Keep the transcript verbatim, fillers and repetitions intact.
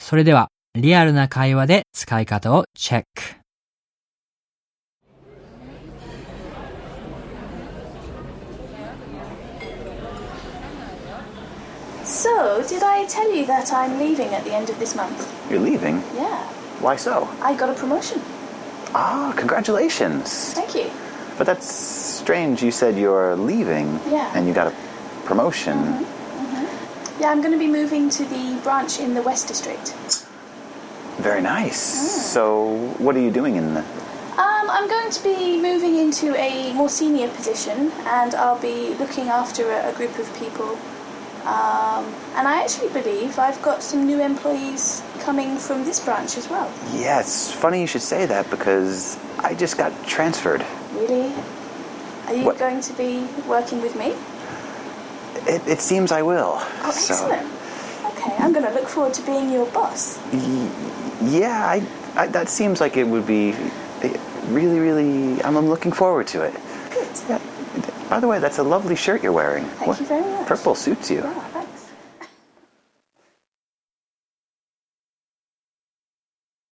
それでは、リアルな会話で使い方をチェック。 So, did I tell you that I'm leaving at the end of this month? You're leaving? Yeah. Why so? I got a promotion. Ah, congratulations. Thank you. But that's strange. You said you're leaving. Yeah. And you got a promotion. Mm-hmm. Mm-hmm. Yeah, I'm going to be moving to the branch in the West District. Very nice. Mm. So, what are you doing in the... Um, I'm going to be moving into a more senior position, and I'll be looking after a, a group of people. Um, and I actually believe I've got some new employees coming from this branch as well. Yeah, it's funny you should say that because I just got transferred. Really? Are you What? going to be working with me? It, it seems I will. Oh, excellent. So, okay, I'm going to look forward to being your boss. Y- yeah, I, I, that seems like it would be really, really... I'm, I'm looking forward to it. Good. Yeah. By the way, that's a lovely shirt you're wearing. Thank What? you very much. Purple suits you. Yeah.